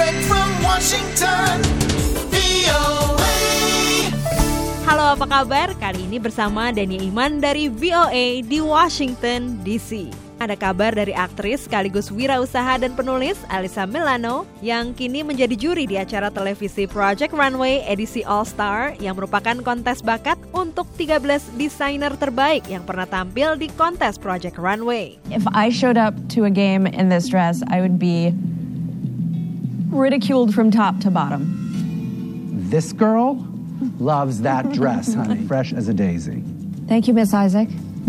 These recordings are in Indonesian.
Direct from Washington, VOA. Halo, apa kabar? Kali ini bersama Dania Iman dari VOA di Washington, D.C. Ada kabar dari aktris sekaligus wirausaha dan penulis Alyssa Milano yang kini menjadi juri di acara televisi Project Runway edisi All Star yang merupakan kontes bakat untuk 13 desainer terbaik yang pernah tampil di kontes Project Runway. If I showed up to a game in this dress, I would be ridiculed from top to bottom. This girl loves that dress, honey. Fresh as a daisy. Thank you, Miss Isaac.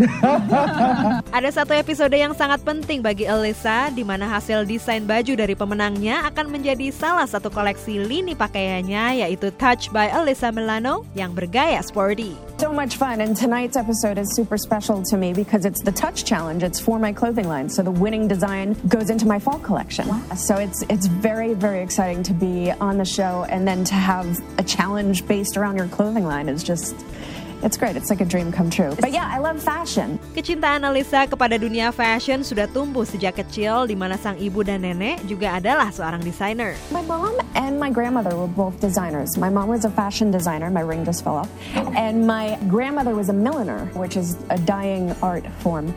Ada satu episode yang sangat penting bagi Alyssa, di mana hasil desain baju dari pemenangnya akan menjadi salah satu koleksi lini pakaiannya, yaitu Touch by Alyssa Milano yang bergaya sporty. So much fun, and tonight's episode is super special to me because it's the Touch Challenge. It's for my clothing line, so the winning design goes into my fall collection. Wow. So it's very, very exciting to be on the show, and then to have a challenge based around your clothing line is just... It's great. It's like a dream come true. But yeah, I love fashion. Kecintaan Alyssa kepada dunia fashion sudah tumbuh sejak kecil, di mana sang ibu dan nenek juga adalah seorang desainer. My mom and my grandmother were both designers. My mom was a fashion designer. My ring just fell off. And my grandmother was a milliner, which is a dying art form.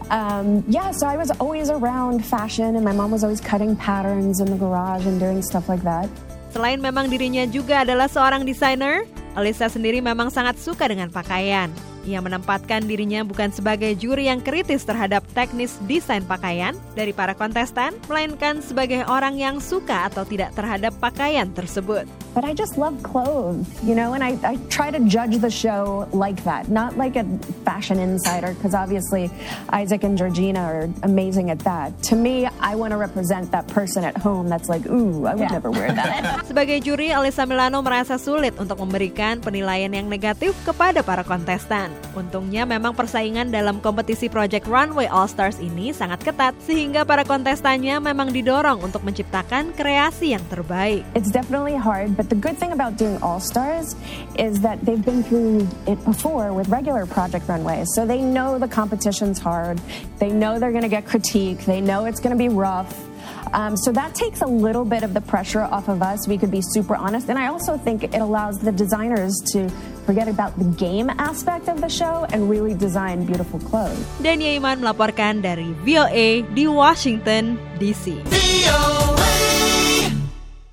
So I was always around fashion, and my mom was always cutting patterns in the garage and doing stuff like that. Selain memang dirinya juga adalah seorang desainer, Alyssa sendiri memang sangat suka dengan pakaian. Ia menempatkan dirinya bukan sebagai juri yang kritis terhadap teknis desain pakaian dari para kontestan, melainkan sebagai orang yang suka atau tidak terhadap pakaian tersebut. But I just love clothes, and I try to judge the show like that, not like a fashion insider, because obviously Isaac and Georgina are amazing at that. To me, I want to represent that person at home that's like, ooh, I would never wear that. Sebagai juri, Alyssa Milano merasa sulit untuk memberikan penilaian yang negatif kepada para kontestan. Untungnya memang persaingan dalam kompetisi Project Runway All Stars ini sangat ketat, sehingga para kontestannya memang didorong untuk menciptakan kreasi yang terbaik. It's definitely hard, but the good thing about doing All Stars is that they've been through it before with regular Project Runways, so they know the competition's hard, they know they're going to get critique, they know it's going to be rough. So that takes a little bit of the pressure off of us. We could be super honest. And I also think it allows the designers to forget about the game aspect of the show and really design beautiful clothes. Dania Iman melaporkan dari VOA di Washington, D.C.